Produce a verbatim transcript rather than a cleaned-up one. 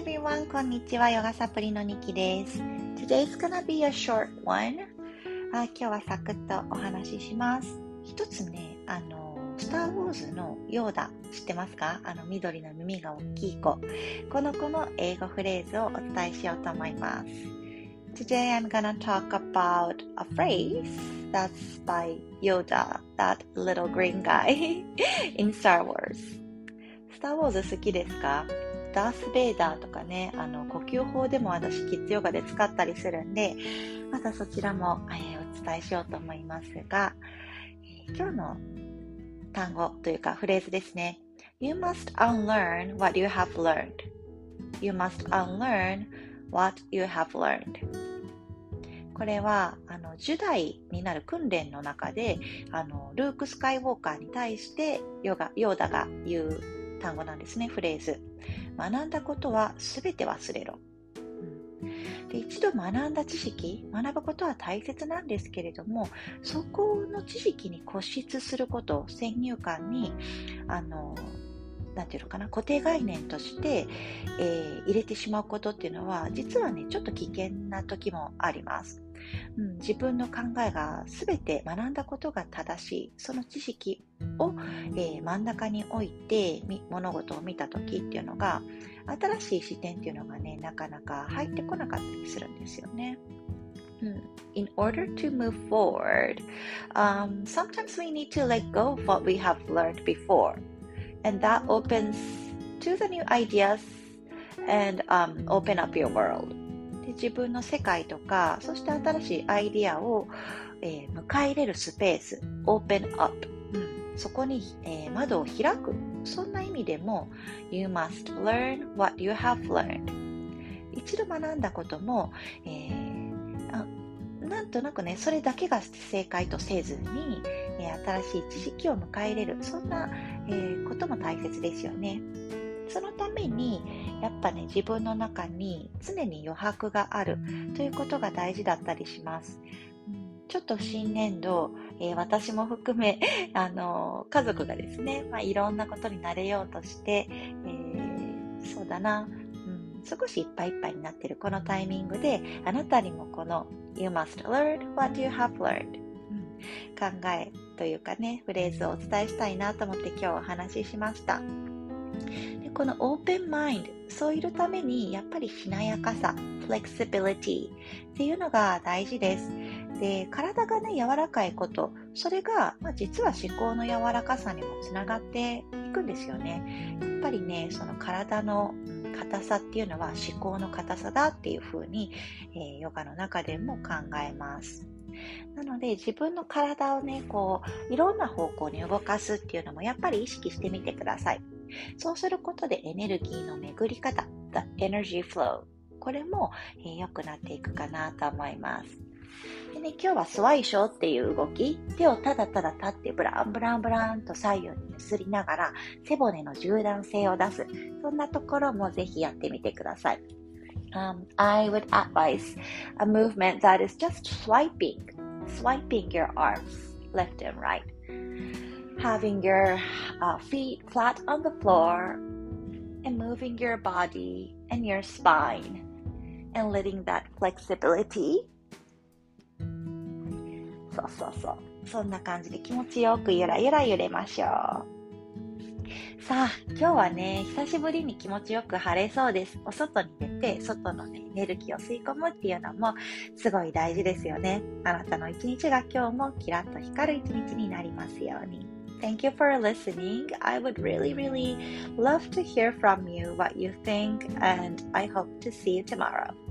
everyone, こんにちは。ヨガサプリのニキです。Today's gonna be a short one. あ今日はサクッとお話しします。一つね、あの、スター・ウォーズのヨーダ、知ってますか？あの、緑の耳が大きい子。この子の英語フレーズをお伝えしようと思います。Today I'm gonna talk about a phrase that's by Yoda, that little green guy in Star Wars. スター・ウォーズ好きですか？ダース・ベイダーとかね、あの呼吸法でも私キッズヨガで使ったりするんで、またそちらも、えー、お伝えしようと思いますが、えー、今日の単語というかフレーズですね。You must unlearn what you have learned. You must unlearn what you have learned. これはあのじゅう代になる訓練の中であのルーク・スカイウォーカーに対してヨガ、ヨーダが言う単語なんですね、フレーズ。学んだことはすべて忘れろ、うん、で一度学んだ知識、学ぶことは大切なんですけれども、そこの知識に固執すること、先入観にあのなんていうのかな、固定概念として、えー、入れてしまうことっていうのは実はねちょっと危険な時もあります、うん、自分の考えがすべて学んだことが正しい、その知識を、えー、真ん中に置いて物事を見た時っていうのが、新しい視点っていうのがねなかなか入ってこなかったりするんですよね。In order to move forward, um, sometimes we need to let go of what we have learned before.And that opens to the new ideas and、um, open up your world. で自分の世界とか、そして新しいアイディアを、えー、迎え入れるスペース、open up、うん、そこに、えー、窓を開く。そんな意味でも You must learn what you have learned. 一度学んだことも、えー、あなんとなくね、それだけが正解とせずに、えー、新しい知識を迎え入れる、そんな、えー、ことも大切ですよね。そのためにやっぱね、自分の中に常に余白があるということが大事だったりします。うん、ちょっと新年度、えー、私も含めあの家族がですね、まあ、いろんなことに慣れようとして、えー、そうだな、少しいっぱいいっぱいになっているこのタイミングで、あなたにもこの You must learn what you have learned、うん、考えというかね、フレーズをお伝えしたいなと思って今日お話ししました。でこの Open Mind、 そういるためにやっぱりしなやかさ、 Flexibility っていうのが大事です。で体がね柔らかいこと、それが、まあ、実は思考の柔らかさにもつながっていくんですよね。やっぱりね、その体の硬さっていうのは思考の硬さだっていうふうに、えー、ヨガの中でも考えます。なので自分の体をねこういろんな方向に動かすっていうのもやっぱり意識してみてください。そうすることでエネルギーの巡り方、 The Energy Flow、 これも、えー、良くなっていくかなと思います。でね、今日はスワイショーっていう動き、手をただただ立ってブランブランブランと左右に揺すりながら背骨の柔軟性を出す、そんなところもぜひやってみてください。Um, I would advise a movement that is just swiping, swiping your arms left and right, having your uh, feet flat on the floor and moving your body and your spine and letting that flexibility、そうそうそう。そんな感じで気持ちよくゆらゆら揺れましょう。さあ、今日はね、久しぶりに気持ちよく晴れそうです。お外に出て、外のね、エネルギーを吸い込むっていうのもすごい大事ですよね。あなたの一日が今日もキラッと光る一日になりますように。Thank you for listening. I would really, really love to hear from you what you think, and I hope to see you tomorrow.